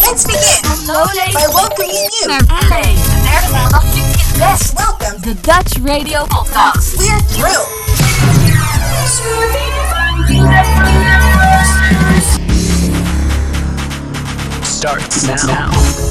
Let's begin Hallo ladies. by welcoming you. Naar LA. De derde maandag klinkt het best. Welcome. De Dutch Radio Podcast. We're thrilled. Starts now.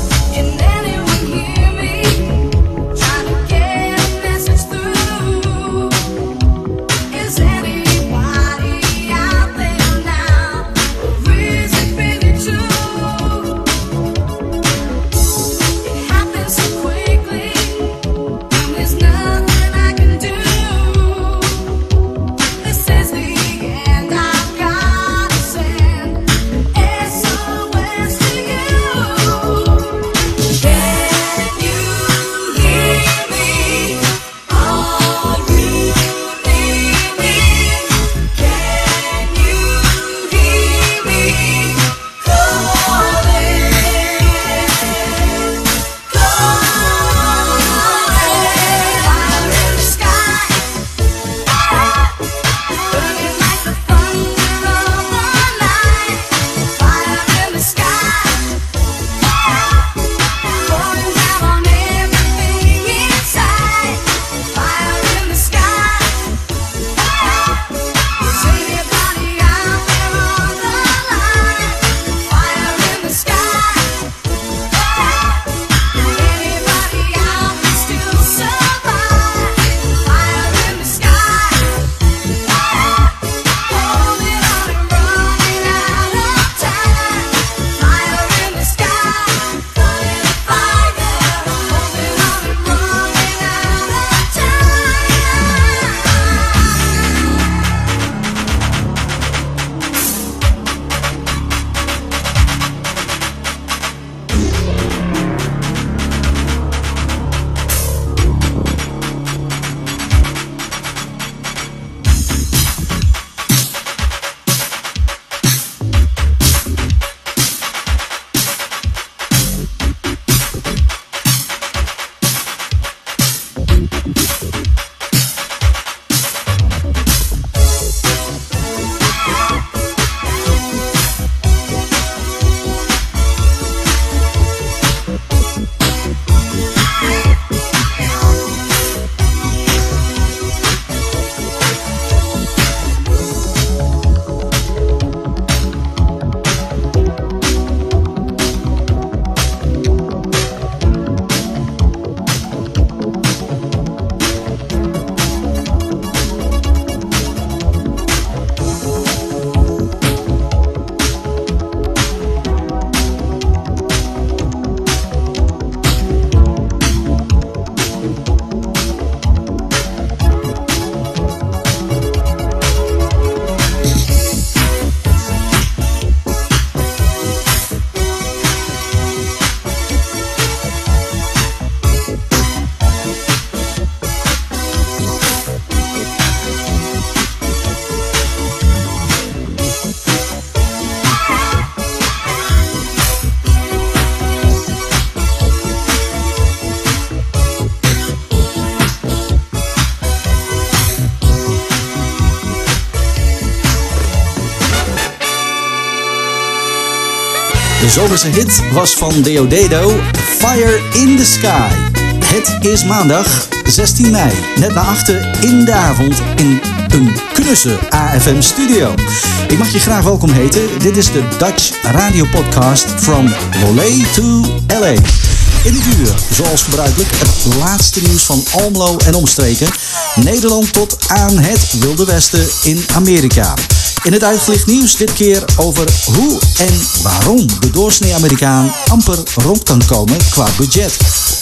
De zomerse hit was van Deodato, Fire in the Sky. Het is maandag 16 mei, net na 8 in de avond in een knusse AFM studio. Ik mag je graag welkom heten. Dit is de Dutch Radio Podcast from Lolé to LA. In dit uur, zoals gebruikelijk, het laatste nieuws van Almelo en omstreken. Nederland tot aan het Wilde Westen in Amerika. In het uitgelicht nieuws dit keer over hoe en waarom de doorsnee Amerikaan amper rond kan komen qua budget.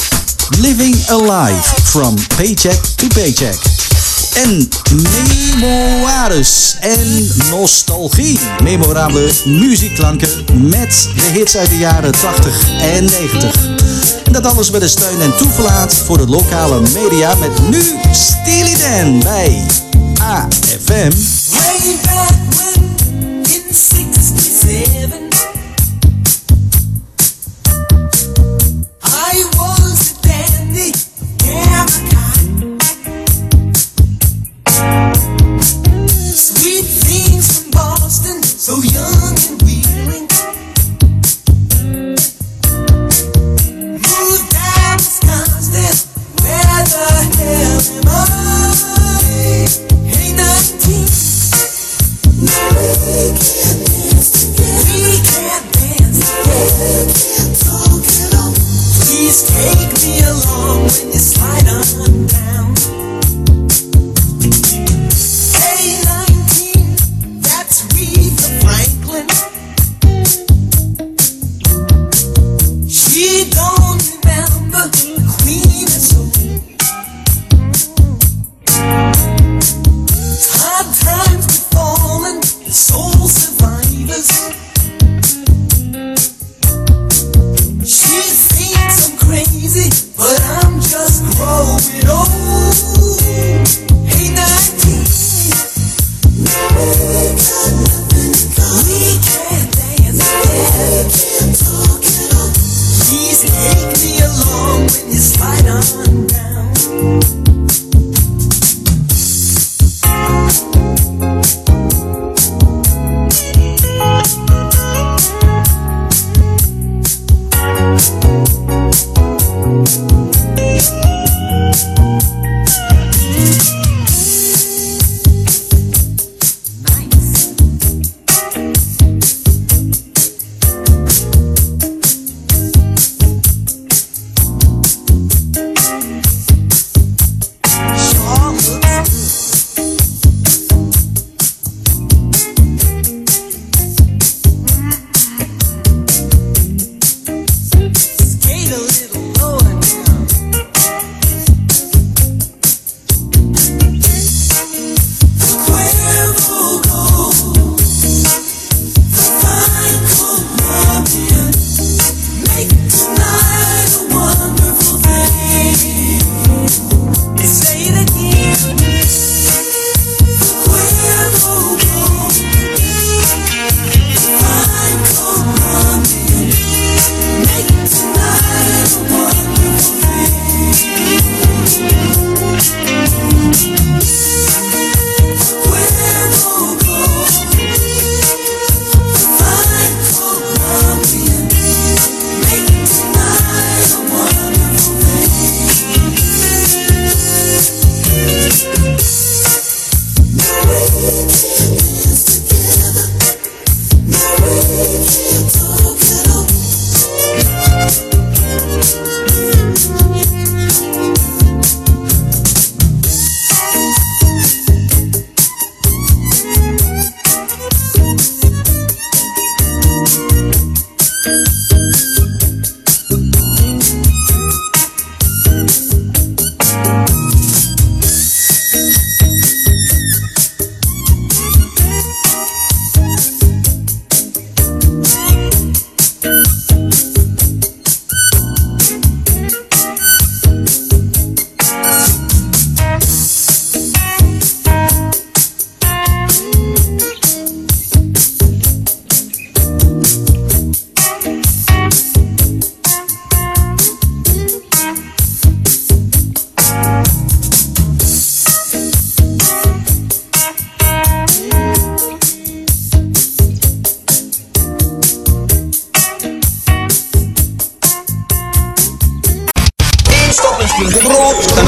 Living a life from paycheck to paycheck. En memoires en nostalgie. Memorabele muziekklanken met de hits uit de jaren 80 en 90. En dat alles met de steun en toeverlaat voor de lokale media met nu Steely Dan bij AFM. Way back when in 67 I was a dandy, yeah, my kind. Sweet things from Boston, so young and weak.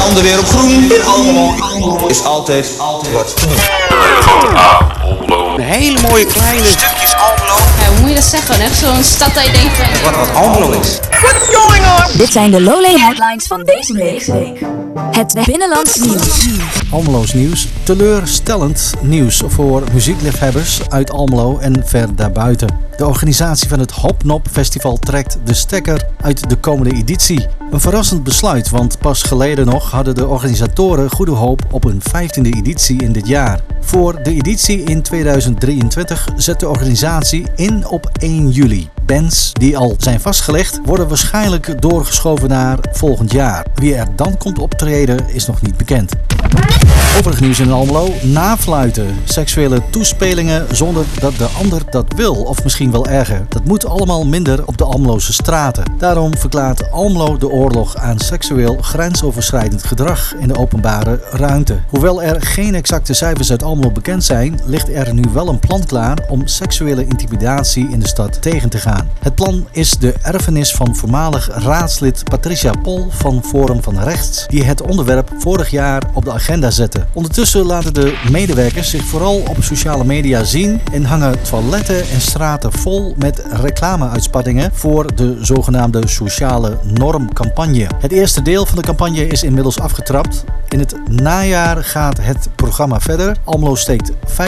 handen weer op groen. In Almelo is altijd wat te doen. Een hele mooie kleine stukjes Almelo. Ja, hoe moet je dat zeggen? Echt zo'n stad dat je denkt van... Wat Almelo is. Dit zijn de Lowlay headlines van deze week. Het binnenlands nieuws. Almelo's nieuws. Teleurstellend nieuws voor muziekliefhebbers uit Almelo en ver daarbuiten. De organisatie van het Hopnop Festival trekt de stekker uit de komende editie. Een verrassend besluit, want pas geleden nog hadden de organisatoren goede hoop op een 15e editie in dit jaar. Voor de editie in 2023 zet de organisatie in op 1 juli. Bands die al zijn vastgelegd worden waarschijnlijk doorgeschoven naar volgend jaar. Wie er dan komt optreden is nog niet bekend. Overig nieuws in Almelo. Nafluiten. Seksuele toespelingen zonder dat de ander dat wil. Of misschien wel erger. Dat moet allemaal minder op de Almeloze straten. Daarom verklaart Almelo de oorlog aan seksueel grensoverschrijdend gedrag in de openbare ruimte. Hoewel er geen exacte cijfers uit Almelo bekend zijn, ligt er nu wel een plan klaar om seksuele intimidatie in de stad tegen te gaan. Het plan is de erfenis van voormalig raadslid Patricia Pol van Forum van Rechts, die het onderwerp vorig jaar op de agenda zette. Ondertussen laten de medewerkers zich vooral op sociale media zien en hangen toiletten en straten vol met reclameuitspattingen voor de zogenaamde sociale normcampagne. Het eerste deel van de campagne is inmiddels afgetrapt. In het najaar gaat het programma verder. Almelo steekt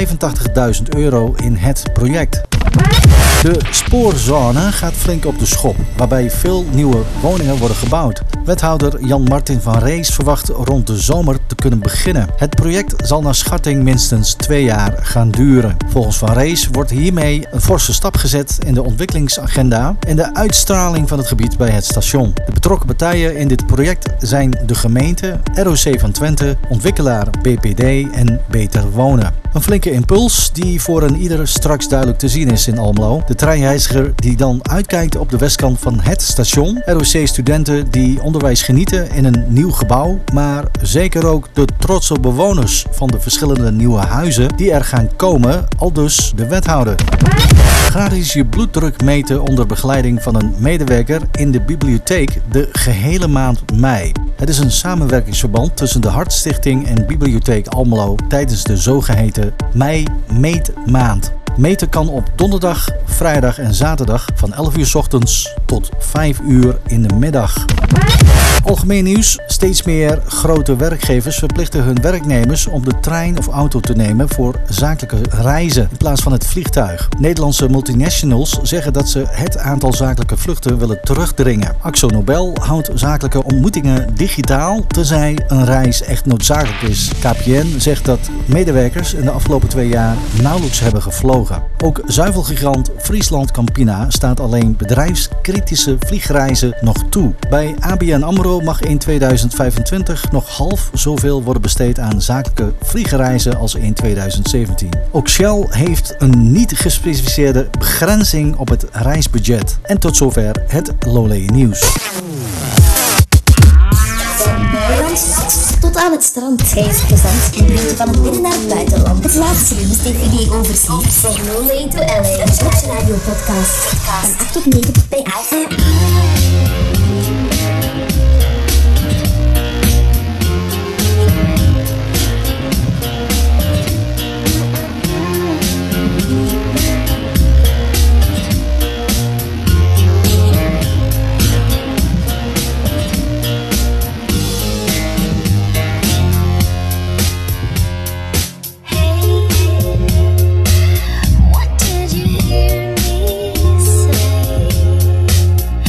€85.000 in het project. De spoorzone gaat flink op de schop, waarbij veel nieuwe woningen worden gebouwd. Wethouder Jan-Martin van Rees verwacht rond de zomer te kunnen beginnen. Het project zal naar schatting minstens 2 jaar gaan duren. Volgens Van Rees wordt hiermee een forse stap gezet in de ontwikkelingsagenda en de uitstraling van het gebied bij het station. De betrokken partijen in dit project zijn de gemeente, ROC van Twente, ontwikkelaar BPD en Beter Wonen. Een flinke impuls die voor een ieder straks duidelijk te zien is in Almelo. De treinreiziger die dan uitkijkt op de westkant van het station. ROC-studenten die onderwijs genieten in een nieuw gebouw. Maar zeker ook de trotse bewoners van de verschillende nieuwe huizen die er gaan komen, aldus de wethouder. Gratis je bloeddruk meten onder begeleiding van een medewerker in de bibliotheek de gehele maand mei. Het is een samenwerkingsverband tussen de Hartstichting en Bibliotheek Almelo tijdens de zogeheten Mei-Meetmaand. Meten kan op donderdag, vrijdag en zaterdag van 11 uur 's ochtends tot 5 uur in de middag. Algemeen nieuws. Steeds meer grote werkgevers verplichten hun werknemers om de trein of auto te nemen voor zakelijke reizen in plaats van het vliegtuig. Nederlandse multinationals zeggen dat ze het aantal zakelijke vluchten willen terugdringen. Akzo Nobel houdt zakelijke ontmoetingen digitaal, tenzij een reis echt noodzakelijk is. KPN zegt dat medewerkers in de afgelopen 2 jaar nauwelijks hebben gevlogen. Ook zuivelgigant Friesland Campina staat alleen bedrijfskritische vliegreizen nog toe. Bij ABN AMRO mag in 2025 nog half zoveel worden besteed aan zakelijke vliegreizen als in 2017. Ook Shell heeft een niet gespecificeerde begrenzing op het reisbudget. En tot zover het Lowlay nieuws. Tot aan het strand. Hij is gezond en brengt je van het binnen naar het buitenland. Het laatste nieuws tegen wie overziet. Zeg Lowlay to LA. Een Sports Radio podcast. Van 8 tot 9 bij iPhone. What did you hear me say?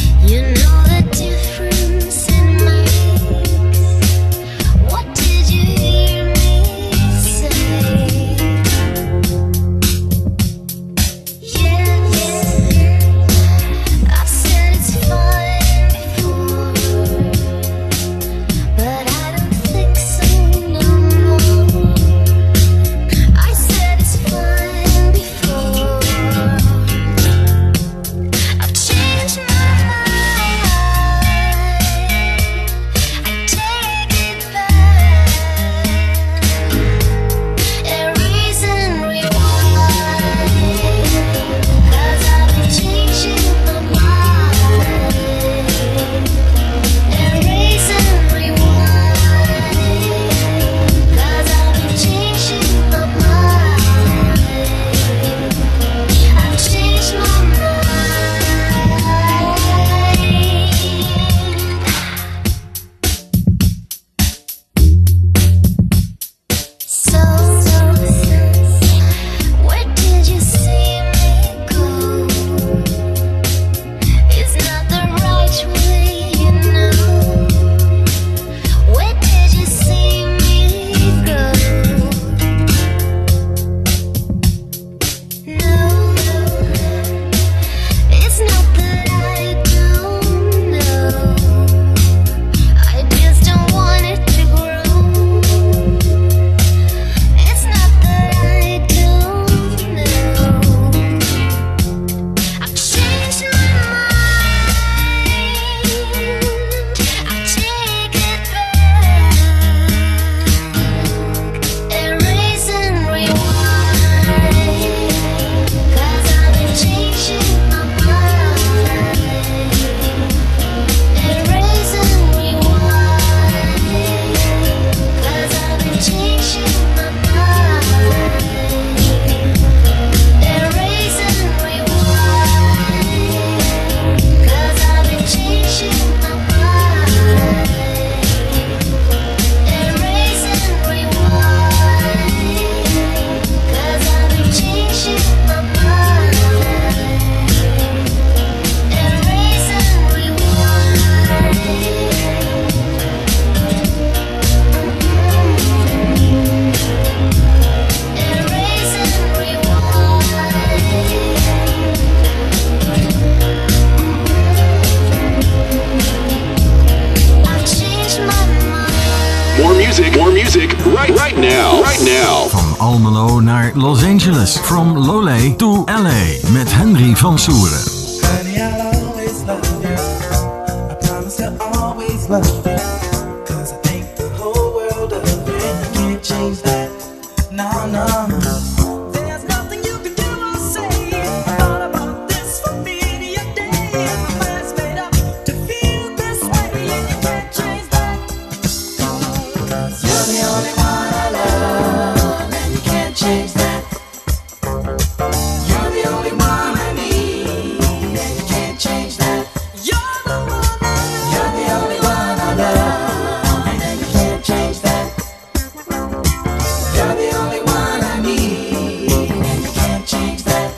more music, right now. Van Almelo naar Los Angeles. From Lole to LA. Met Henry van Soeren. Honey, I'll always love you. I promise I'll always love you. 'Cause I think the whole world of you, and you can't change that. No. There's nothing you can do or say. I thought about this for many a day. My mind's made up to feel this way, and you can't change that. 'Cause you're the only one I love, and you can't change that. You're the only one I need, and you can't change that. You're the one I love. You're the only one I love, and you can't change that. You're the only one I need, and you can't change that.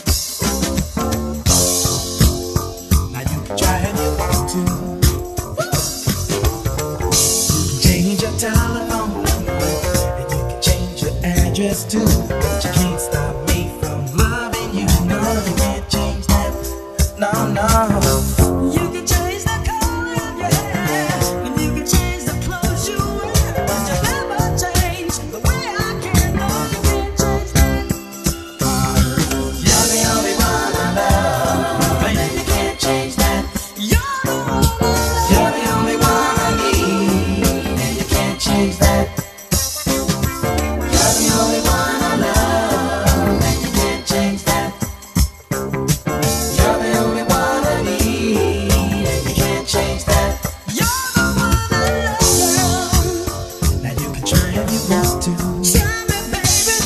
Now you can try and you want to. You can change your telephone number, and you can change your address too. But you can't stop me from loving you. No, you can't change that. No. You can change the color of your hair, and you can change the clothes you wear, but you never change the way I care. No, you can't change that. You're the only one I love, and you can't change that. You're the one I love. You're the only one I need, and you can't change that. You're the only one I love, and you can't change that. You're the only one I need, and you can't change that. You're the one I love. Now you can try if you want to. Try me, baby.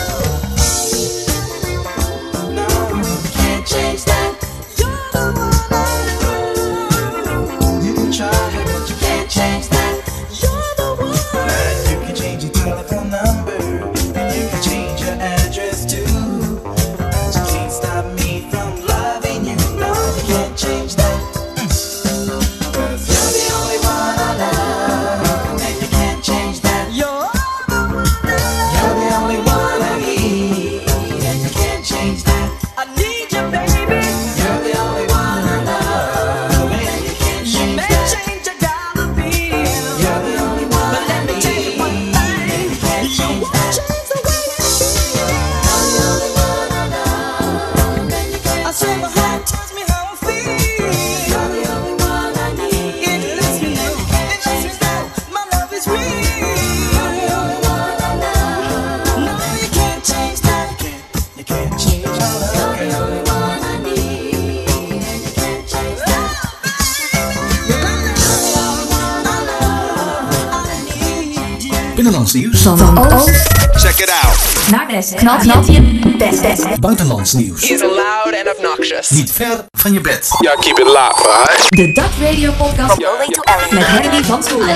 No, you can't change that. You're the one I love. You can try it, but you can't change that. You're the one. Now you can change your telephone number, and you can change your address too. But you can't stop me from loving you. No, you can't change that. 'Cause you're the only one I love, and you can't change that. You're the one I love. You're the only one I need, and you can't change that. I need you, baby. You're the only one I love, and you can't change that. You may change your dollar bill. You're the only one. But let me tell you one thing. You won't change the way I feel. You're the only one I love, and you can't. I say my heart tells me how I feel. You're the only one I need. It lets me know. It lets me know my love is real. You're the only one I love. No, you can't change that. You can't change my love. You're the only one I need, and you can't change that. You're the only one I love. I need you. Binnenlands nieuws. Van oost Check it out. naar west. Knal je best. Buitenlands nieuws. He's loud and obnoxious. Niet ver van je bed. Yeah, keep it locked, right? De Dutch Radio Podcast met Henry van Soeren.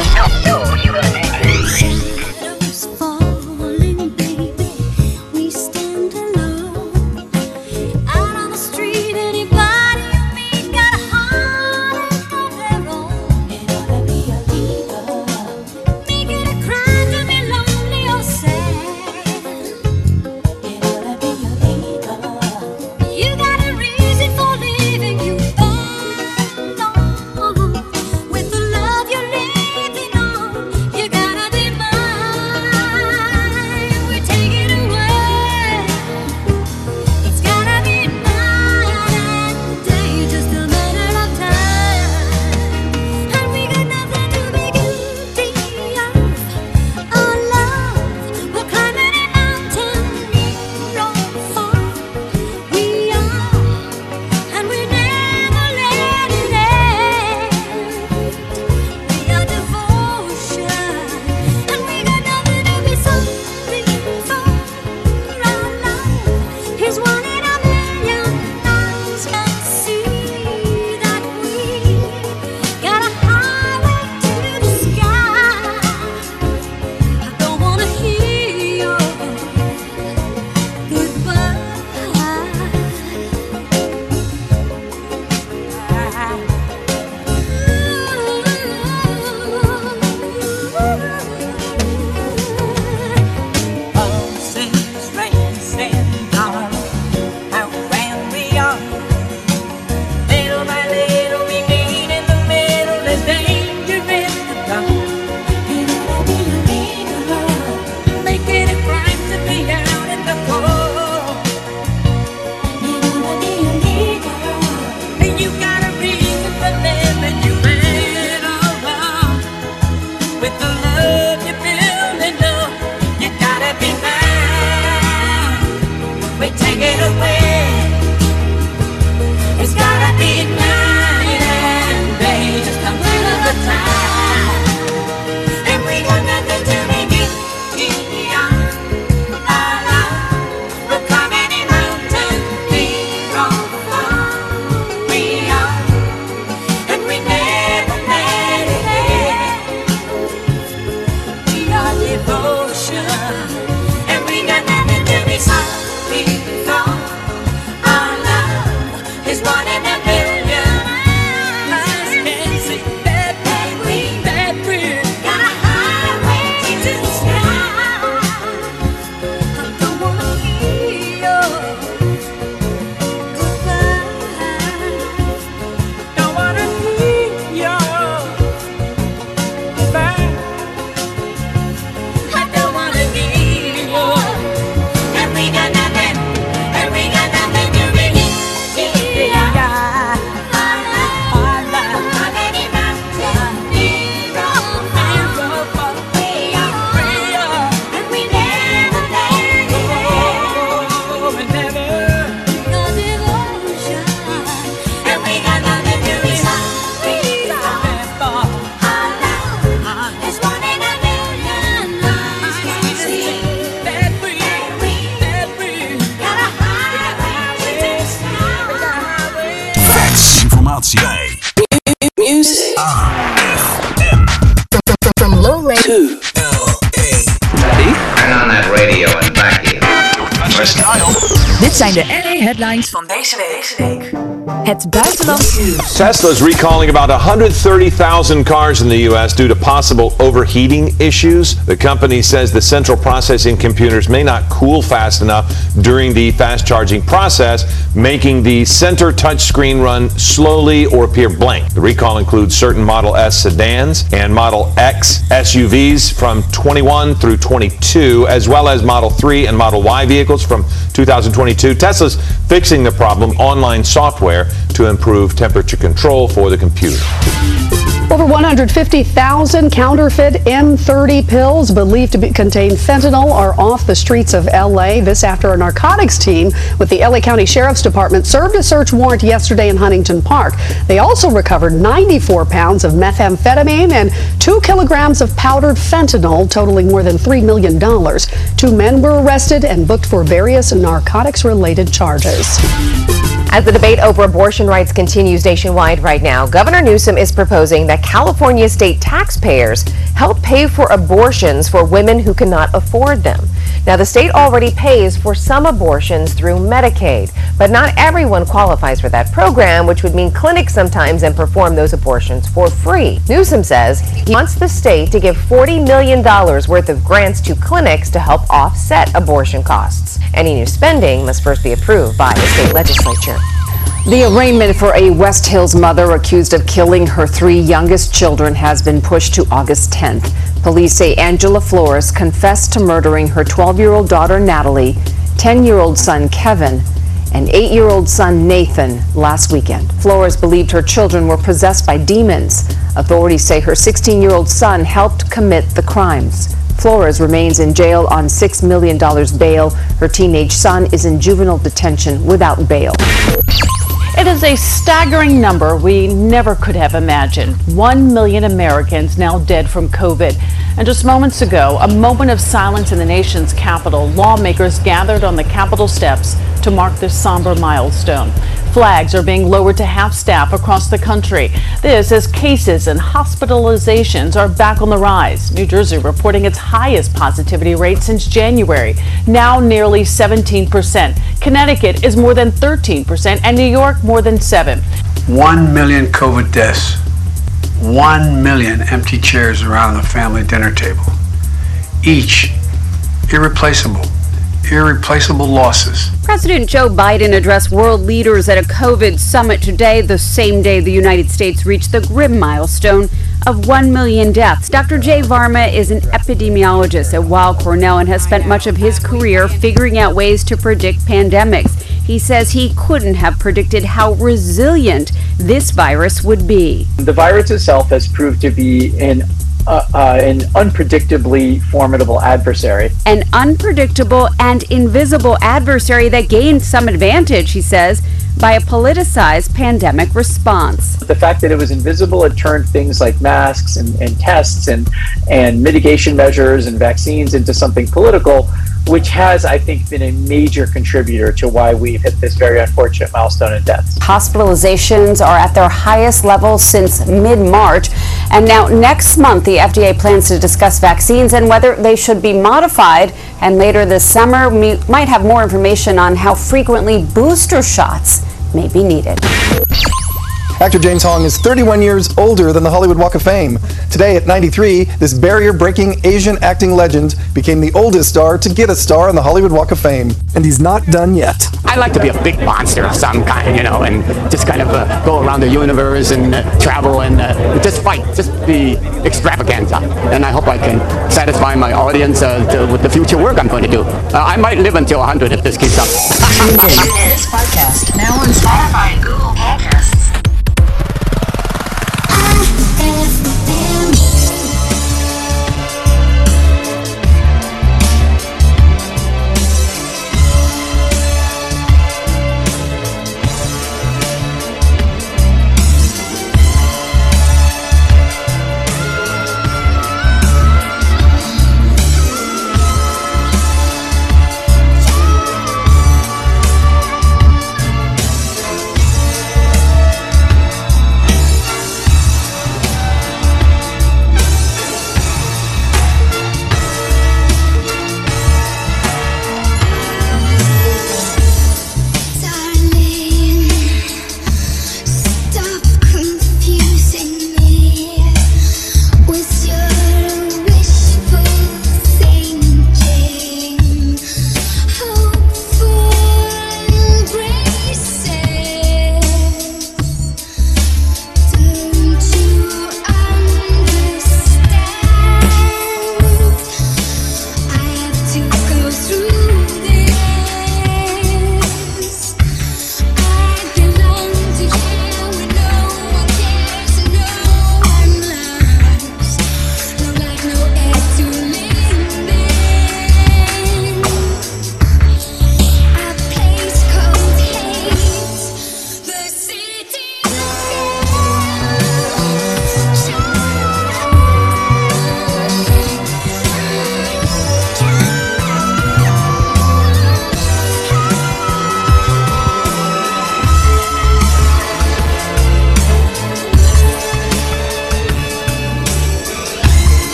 With the love you're living on, you gotta music. From Lowlay to LA. Ready? Turn on that radio and back it. Dit zijn de LA headlines van deze week. Het buitenlands nieuws. Tesla's recalling about 130,000 cars in the U.S. due to possible overheating issues. The company says the central processing computers may not cool fast enough during the fast charging process, making the center touchscreen run slowly or appear blank. The recall includes certain Model S sedans and Model X SUVs from 21 through 22, as well as Model 3 and Model Y vehicles from 2022. Tesla's fixing the problem online software to improve temperature control for the computer. Over 150,000 counterfeit M30 pills believed to contain fentanyl are off the streets of LA. This after a narcotics team with the LA County Sheriff's Department served a search warrant yesterday in Huntington Park. They also recovered 94 pounds of methamphetamine and 2 kilograms of powdered fentanyl, totaling more than $3 million. 2 men were arrested and booked for various narcotics-related charges. As the debate over abortion rights continues nationwide right now, Governor Newsom is proposing that California state taxpayers help pay for abortions for women who cannot afford them. Now, the state already pays for some abortions through Medicaid, but not everyone qualifies for that program, which would mean clinics sometimes then perform those abortions for free. Newsom says he wants the state to give $40 million worth of grants to clinics to help offset abortion costs. Any new spending must first be approved by the state legislature. The arraignment for a West Hills mother accused of killing her 3 youngest children has been pushed to August 10th. Police say Angela Flores confessed to murdering her 12-year-old daughter Natalie, 10-year-old son Kevin, and 8-year-old son Nathan last weekend. Flores believed her children were possessed by demons. Authorities say her 16-year-old son helped commit the crimes. Flores remains in jail on $6 million bail. Her teenage son is in juvenile detention without bail. It is a staggering number we never could have imagined. 1 million Americans now dead from COVID. And just moments ago, a moment of silence in the nation's capital. Lawmakers gathered on the Capitol steps to mark this somber milestone. Flags are being lowered to half staff across the country. This as cases and hospitalizations are back on the rise. New Jersey reporting its highest positivity rate since January, now nearly 17%. Connecticut is more than 13%, and New York more than 7%. 1 million COVID deaths. 1 million empty chairs around the family dinner table. Each irreplaceable losses. President Joe Biden addressed world leaders at a COVID summit today, the same day the United States reached the grim milestone of 1 million deaths. Dr. Jay Varma is an epidemiologist at Weill Cornell and has spent much of his career figuring out ways to predict pandemics. He says he couldn't have predicted how resilient this virus would be. The virus itself has proved to be an unpredictably formidable adversary. An unpredictable and invisible adversary that gained some advantage, he says, by a politicized pandemic response. The fact that it was invisible, it turned things like masks and tests and mitigation measures and vaccines into something political, which has, I think, been a major contributor to why we've hit this very unfortunate milestone in deaths. Hospitalizations are at their highest level since mid-March. And now next month, the FDA plans to discuss vaccines and whether they should be modified. And later this summer, we might have more information on how frequently booster shots may be needed. Actor James Hong is 31 years older than the Hollywood Walk of Fame. Today at 93, this barrier-breaking Asian acting legend became the oldest star to get a star on the Hollywood Walk of Fame. And he's not done yet. I like to be a big monster of some kind, and just kind of go around the universe and travel and just fight, just be extravaganza. And I hope I can satisfy my audience with the future work I'm going to do. I might live until 100 if this keeps up. This podcast now on Spotify and Google Podcasts.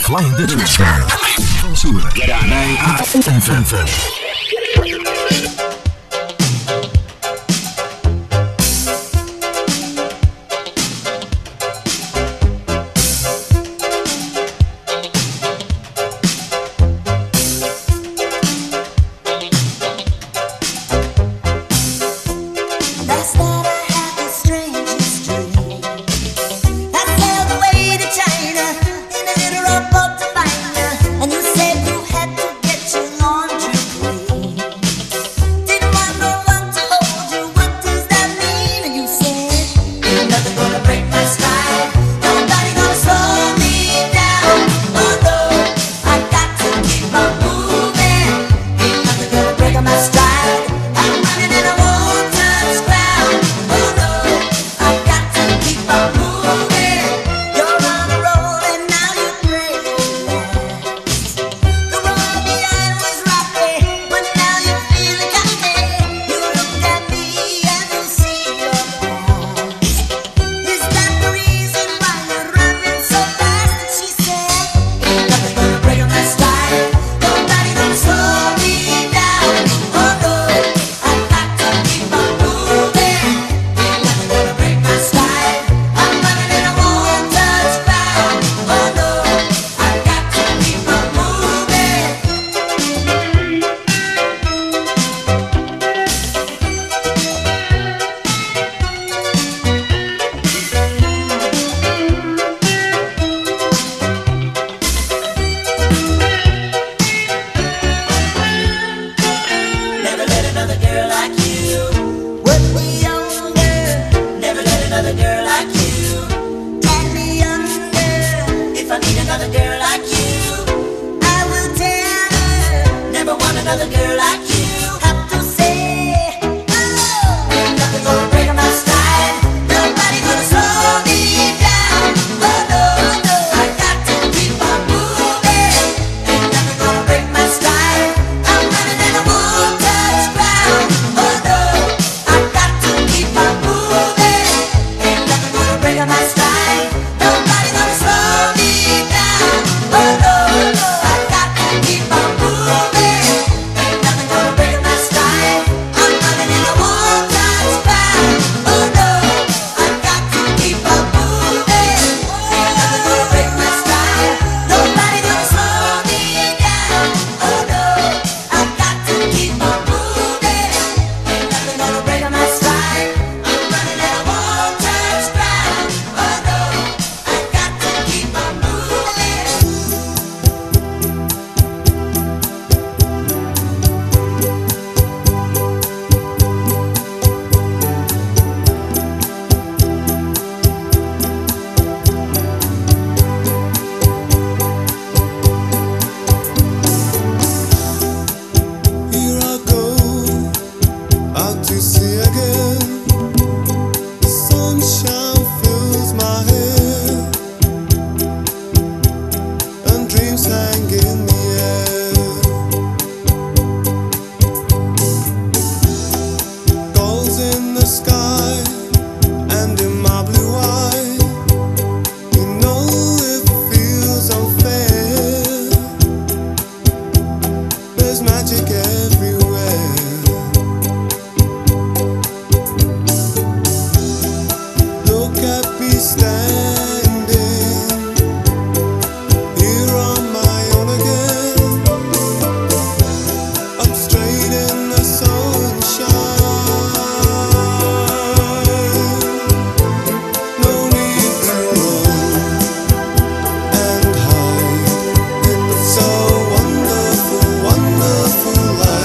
Flying Dutchman. Van Soeren. Bij AFM. Wonderful life.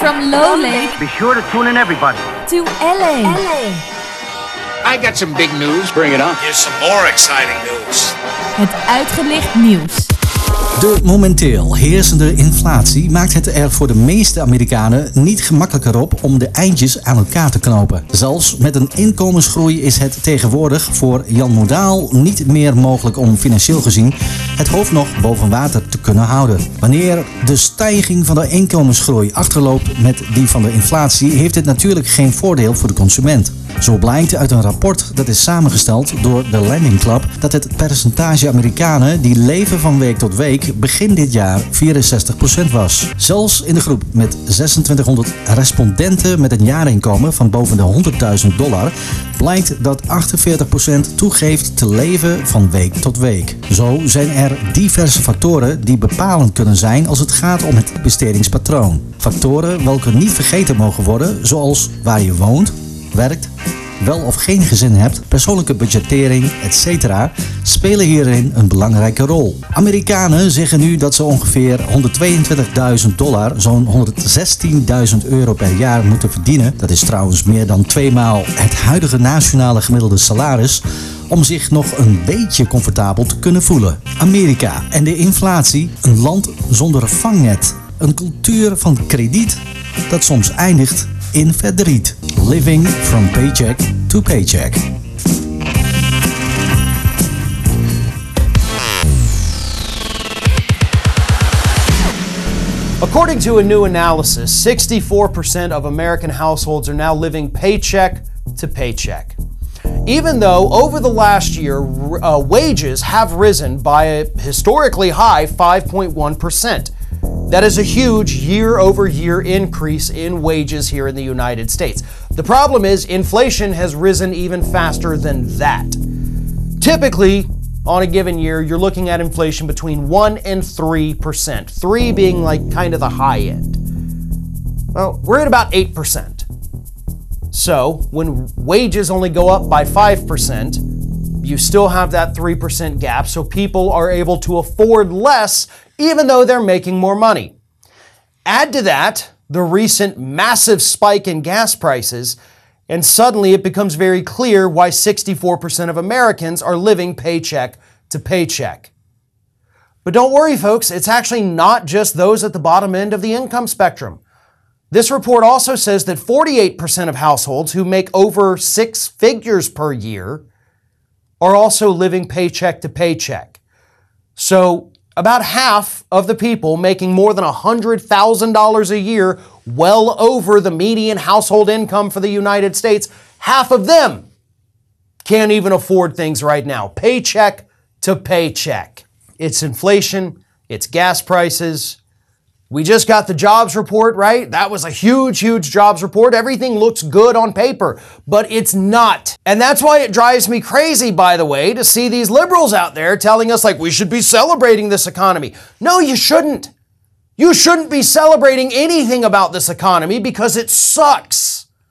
From Lowlake Be sure to tune in, everybody. to LA. I got some big news. Bring it on. Here's some more exciting news. Het uitgelicht nieuws. De momenteel heersende inflatie maakt het er voor de meeste Amerikanen niet gemakkelijker op om de eindjes aan elkaar te knopen. Zelfs met een inkomensgroei is het tegenwoordig voor Jan Modaal niet meer mogelijk om financieel gezien het hoofd nog boven water te kunnen houden. Wanneer de stijging van de inkomensgroei achterloopt met die van de inflatie, heeft dit natuurlijk geen voordeel voor de consument. Zo blijkt uit een rapport dat is samengesteld door de Lending Club dat het percentage Amerikanen die leven van week tot week begin dit jaar 64% was. Zelfs in de groep met 2600 respondenten met een jaarinkomen van boven de $100.000 blijkt dat 48% toegeeft te leven van week tot week. Zo zijn er diverse factoren die bepalend kunnen zijn als het gaat om het bestedingspatroon. Factoren welke niet vergeten mogen worden, zoals waar je woont, werkt, wel of geen gezin hebt, persoonlijke budgettering, etc. spelen hierin een belangrijke rol. Amerikanen zeggen nu dat ze ongeveer $122.000, zo'n €116.000 per jaar moeten verdienen. Dat is trouwens meer dan 2 maal het huidige nationale gemiddelde salaris om zich nog een beetje comfortabel te kunnen voelen. Amerika en de inflatie, een land zonder vangnet. Een cultuur van krediet dat soms eindigt in verdriet. Living from paycheck to paycheck. According to a new analysis, 64% of American households are now living paycheck to paycheck. Even though over the last year, wages have risen by a historically high 5.1%. That is a huge year-over-year increase in wages here in the United States. The problem is inflation has risen even faster than that. Typically, on a given year, you're looking at inflation between 1 and 3%. 3 being like kind of the high end. Well, we're at about 8%. So, when wages only go up by 5%, you still have that 3% gap, so people are able to afford less even though they're making more money. Add to that the recent massive spike in gas prices, and suddenly it becomes very clear why 64% of Americans are living paycheck to paycheck. But don't worry, folks, it's actually not just those at the bottom end of the income spectrum. This report also says that 48% of households who make over 6 figures per year are also living paycheck to paycheck. So about half of the people making more than $100,000 a year, well over the median household income for the United States, half of them can't even afford things right now. Paycheck to paycheck. It's inflation, it's gas prices. We just got the jobs report, right? That was a huge, huge jobs report. Everything looks good on paper, but it's not. And that's why it drives me crazy, by the way, to see these liberals out there telling us like we should be celebrating this economy. No, you shouldn't. You shouldn't be celebrating anything about this economy because it sucks.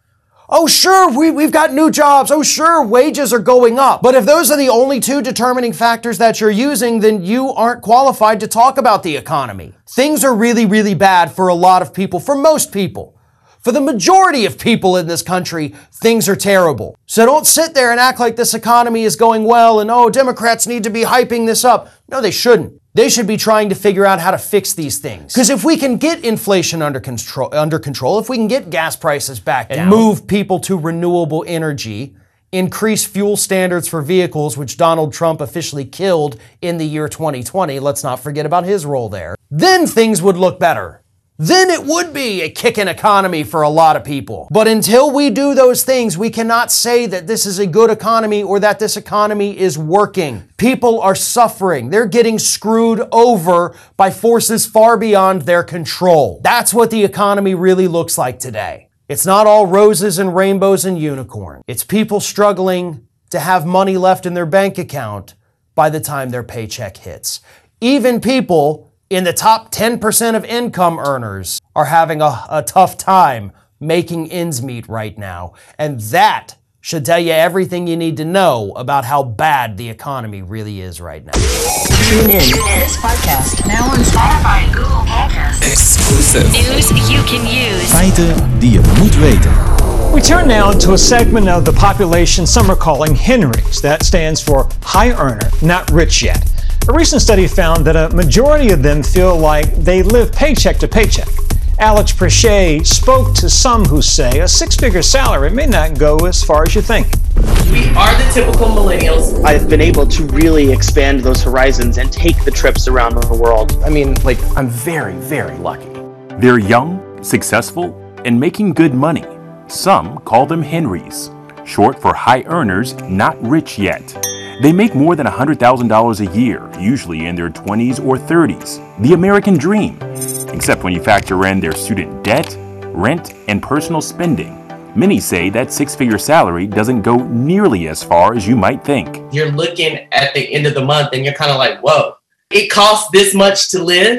Oh, sure, we've got new jobs. Oh, sure, wages are going up. But if those are the only 2 determining factors that you're using, then you aren't qualified to talk about the economy. Things are really, really bad for a lot of people, for most people. For the majority of people in this country, things are terrible. So don't sit there and act like this economy is going well and, oh, Democrats need to be hyping this up. No, they shouldn't. They should be trying to figure out how to fix these things. Because if we can get inflation under control, if we can get gas prices back down, and move people to renewable energy, increase fuel standards for vehicles, which Donald Trump officially killed in the year 2020, let's not forget about his role there, then things would look better. Then it would be a kicking economy for a lot of people. But until we do those things, we cannot say that this is a good economy or that this economy is working. People are suffering. They're getting screwed over by forces far beyond their control. That's what the economy really looks like today. It's not all roses and rainbows and unicorns. It's people struggling to have money left in their bank account by the time their paycheck hits. Even people in the top 10% of income earners are having a tough time making ends meet right now. And that should tell you everything you need to know about how bad the economy really is right now. Tune in. This podcast now on Spotify and Google Podcasts. Exclusive. Exclusive. News you can use. Feiten die je moet weten. We turn now to a segment of the population some are calling Henrys. That stands for high earner, not rich yet. A recent study found that a majority of them feel like they live paycheck to paycheck. Alex Prechet spoke to some who say a six-figure salary may not go as far as you think. We are the typical millennials. I've been able to really expand those horizons and take the trips around the world. I mean, like, I'm very, very lucky. They're young, successful, and making good money. Some call them Henrys, short for high earners, not rich yet. They make more than $100,000 a year, usually in their 20s or 30s. The American dream, except when you factor in their student debt, rent, and personal spending. Many say that six-figure salary doesn't go nearly as far as you might think. You're looking at the end of the month and you're kind of like, whoa, it costs this much to live?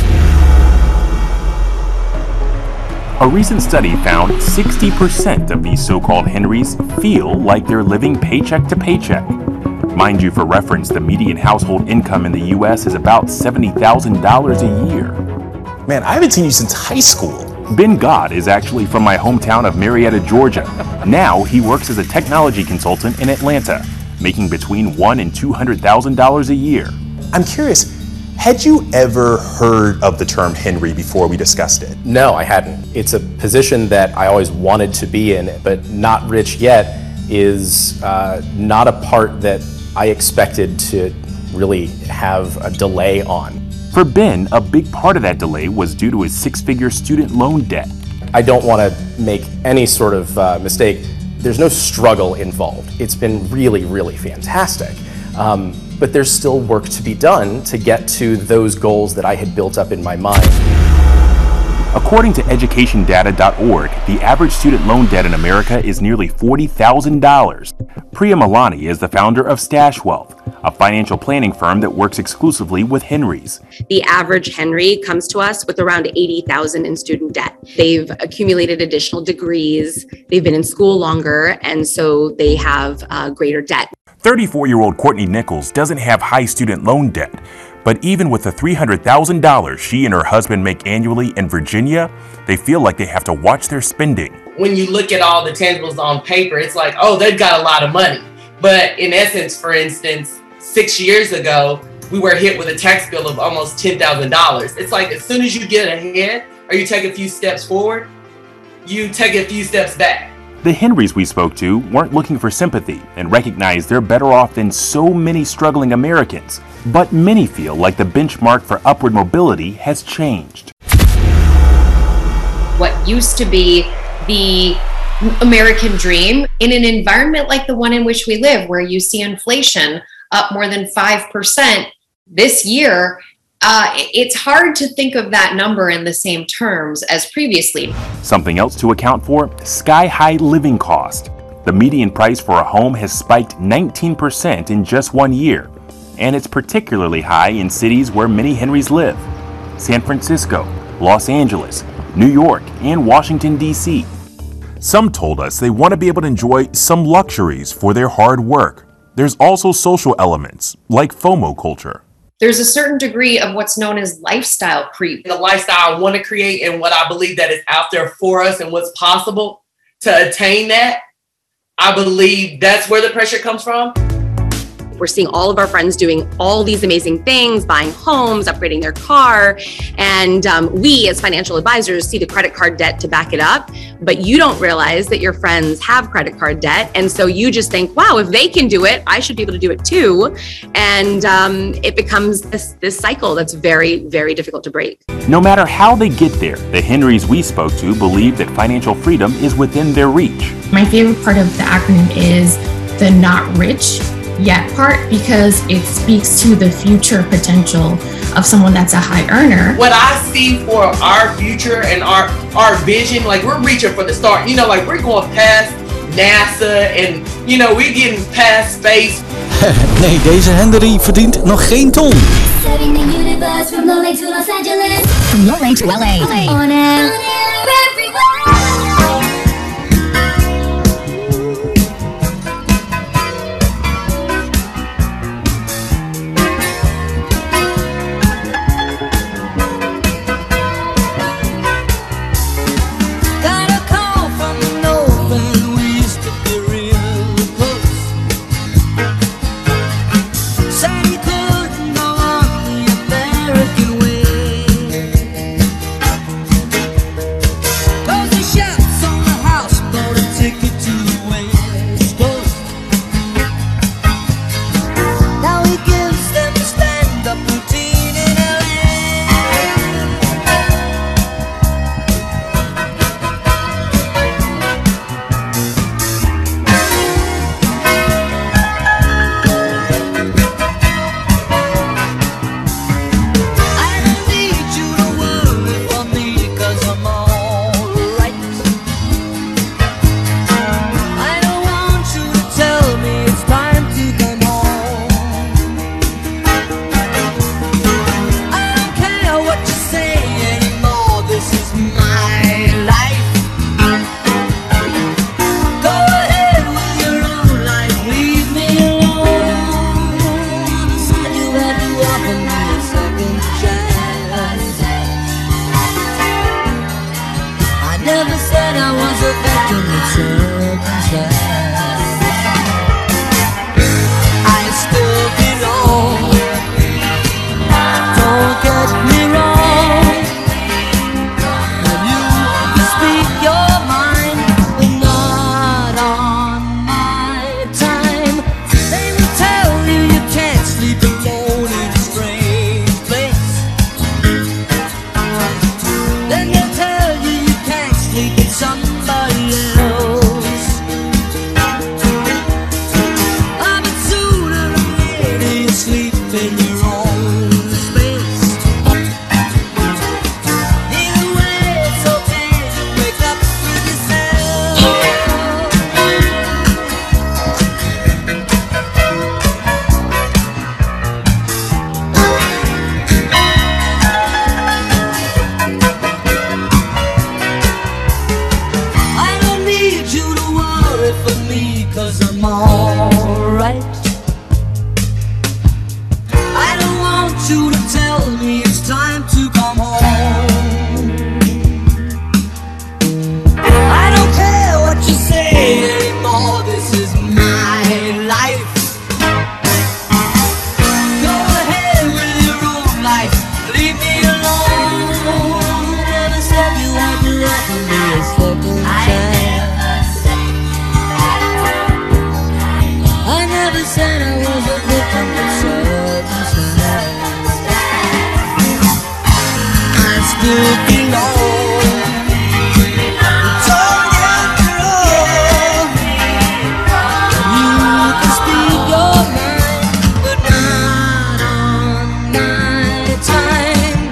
A recent study found 60% of these so-called Henrys feel like they're living paycheck to paycheck. Mind you, for reference, the median household income in the U.S. is about $70,000 a year. Man, I haven't seen you since high school. Ben God is actually from my hometown of Marietta, Georgia. Now he works as a technology consultant in Atlanta, making between $100,000 and $200,000 a year. I'm curious, had you ever heard of the term Henry before we discussed it? No, I hadn't. It's a position that I always wanted to be in, but not rich yet is not a part that I expected to really have a delay on. For Ben, a big part of that delay was due to his six-figure student loan debt. I don't want to make any sort of mistake. There's no struggle involved. It's been really, really fantastic. But there's still work to be done to get to those goals that I had built up in my mind. According to educationdata.org, the average student loan debt in America is nearly $40,000. Priya Malani is the founder of Stash Wealth, a financial planning firm that works exclusively with Henrys. The average Henry comes to us with around $80,000 in student debt. They've accumulated additional degrees, they've been in school longer, and so they have greater debt. 34-year-old Courtney Nichols doesn't have high student loan debt, but even with the $300,000 she and her husband make annually in Virginia, they feel like they have to watch their spending. When you look at all the tangibles on paper, it's like, oh, they've got a lot of money. But in essence, for instance, 6 years ago, we were hit with a tax bill of almost $10,000. It's like as soon as you get ahead or you take a few steps forward, you take a few steps back. The Henrys we spoke to weren't looking for sympathy and recognized they're better off than so many struggling Americans. But many feel like the benchmark for upward mobility has changed. What used to be the American dream in an environment like the one in which we live, where you see inflation up more than 5% this year, it's hard to think of that number in the same terms as previously. Something else to account for, sky-high living cost. The median price for a home has spiked 19% in just 1 year, and it's particularly high in cities where many Henrys live. San Francisco, Los Angeles, New York, and Washington, D.C. Some told us they want to be able to enjoy some luxuries for their hard work. There's also social elements, like FOMO culture. There's a certain degree of what's known as lifestyle creep. The lifestyle I want to create and what I believe that is out there for us and what's possible to attain that, I believe that's where the pressure comes from. We're seeing all of our friends doing all these amazing things, buying homes, upgrading their car. And we as financial advisors see the credit card debt to back it up. But you don't realize that your friends have credit card debt. And so you just think, wow, if they can do it, I should be able to do it too. And it becomes this cycle that's very, very difficult to break. No matter how they get there, the Henrys we spoke to believe that financial freedom is within their reach. My favorite part of the acronym is the not rich yet part, because it speaks to the future potential of someone that's a high earner. What I see for our future and our vision, like we're reaching for the start, you know, like we're going past NASA and, you know, we're getting past space. Nee, deze Henry verdient nog geen ton. Setting the universe from Lowley to Los Angeles. From Lowley to LA. On air everywhere. still belong. Talk after all. You can speak your mind, but not on my time.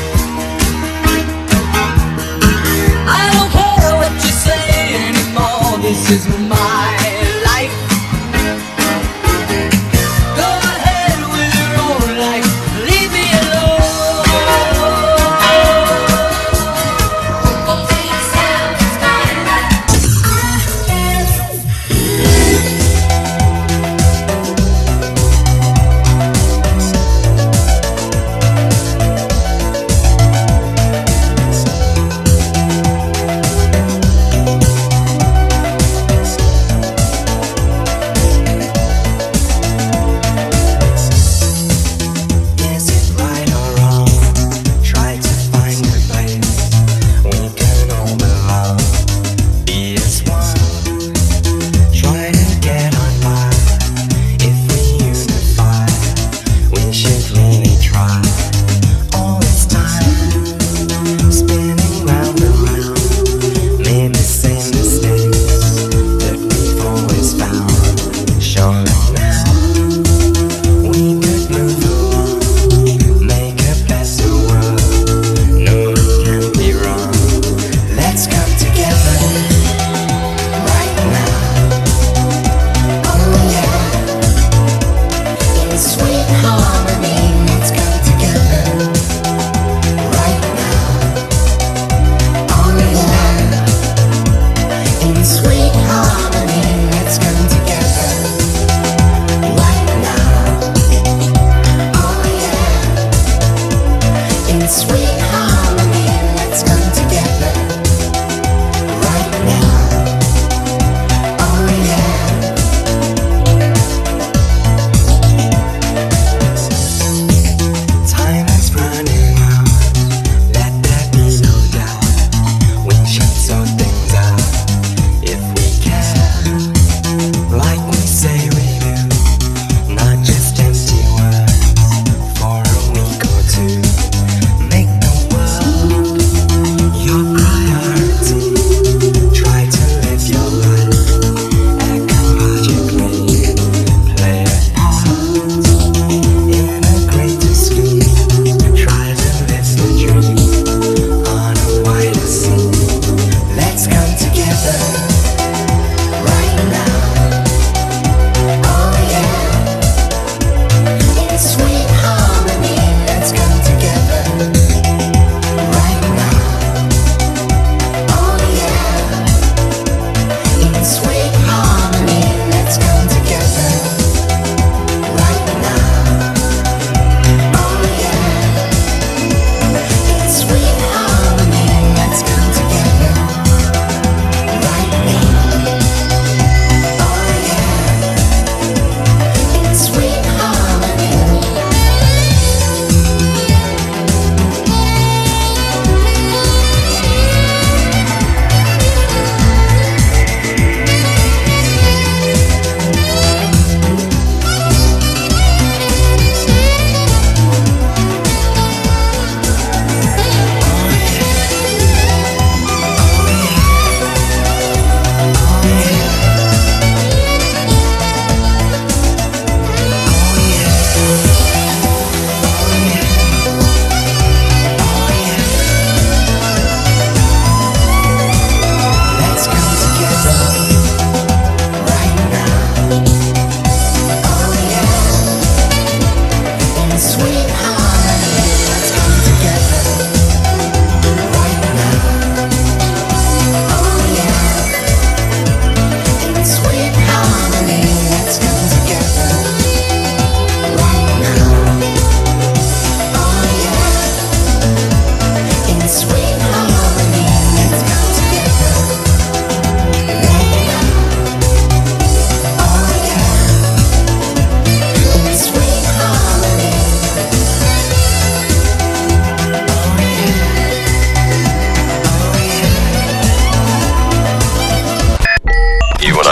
I don't care what you say anymore.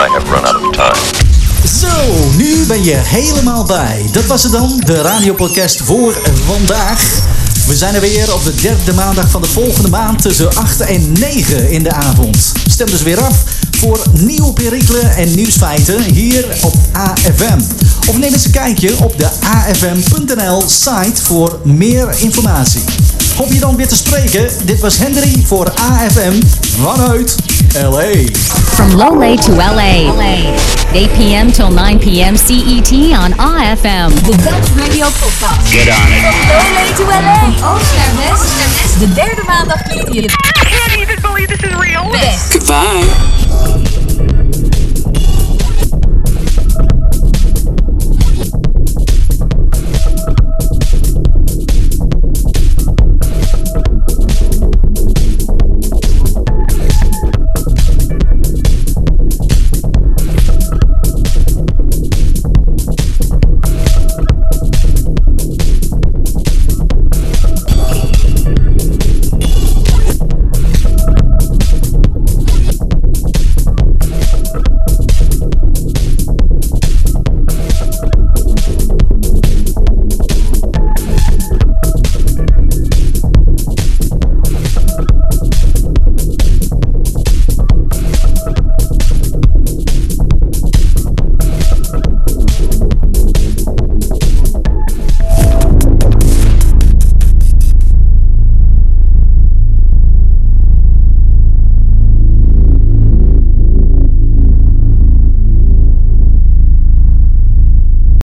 have run out of time. Zo, nu ben je helemaal bij. Dat was het dan, de radiopodcast voor vandaag. We zijn er weer op de derde maandag van de volgende maand tussen 8 en 9 in de avond. Stem dus weer af voor nieuwe perikelen en nieuwsfeiten hier op AFM. Of neem eens een kijkje op de afm.nl site voor meer informatie. Hoop je dan weer te spreken. Dit was Henry voor AFM vanuit LA. From Lowley to LA. 8 p.m. till 9 p.m. CET on AFM. De Dutch Radio Podcast. Get on it. From Lowley to LA. Oost naar west. De derde maandag liet je... I can't even believe this is real. Goodbye.